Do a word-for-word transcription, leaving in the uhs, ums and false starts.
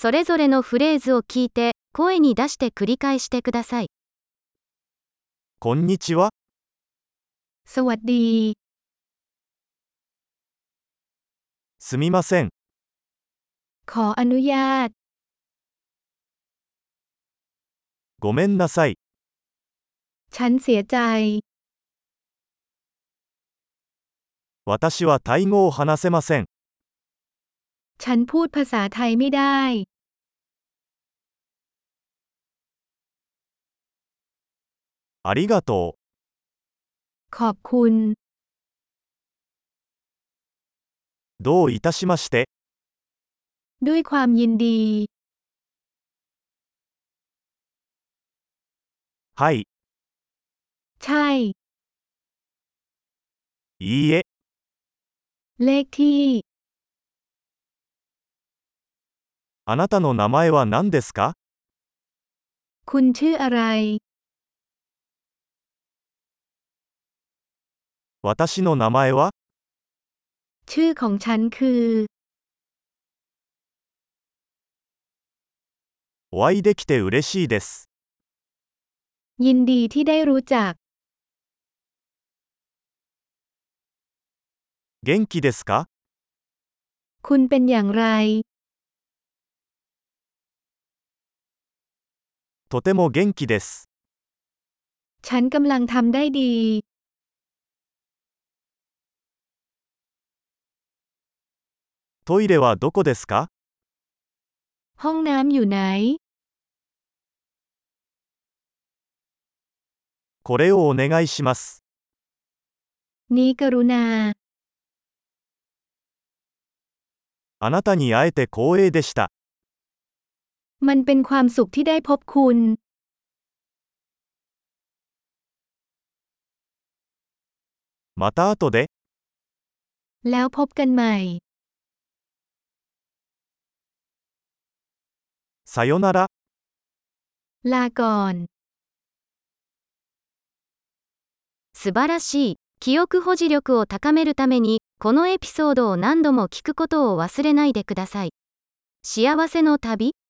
それぞれのフレーズを聞いて、声に出して繰り返してください。 こんにちは。 สวัสดีすみません。 ขออนุญาตごめんなさい。 ฉันเสียใจ私はタイ語を話せません。 ฉันพูดภาษาไทยไม่ได้ありがとขอบคุณう。どういたしまして。 ด้วยความยินดีはい。 ใช่いいえ。 เลขที่あなたの名前は何ですか？ คุณชื่ออะไร私の名前は？ ชื่อของฉันคือお会いできて嬉しいです。 ยินดีที่ได้รู้จัก元気ですか？ คุณเป็นอย่างไรとても元気です。 ฉันกำลังทำได้ดีトイレはどこですか？ ห้องน้ำอยู่ไหนこれをお願いします。 นี้กรุณาあなたに会えて光栄でした。 มันเป็นความสุขที่ได้พบคุณまた後で。 แล้วพบกันใหม่さよなら。 ลาก่อน素晴らしい。記憶保持力を高めるために、このエピソードを何度も聞くことを忘れないでください。幸せの旅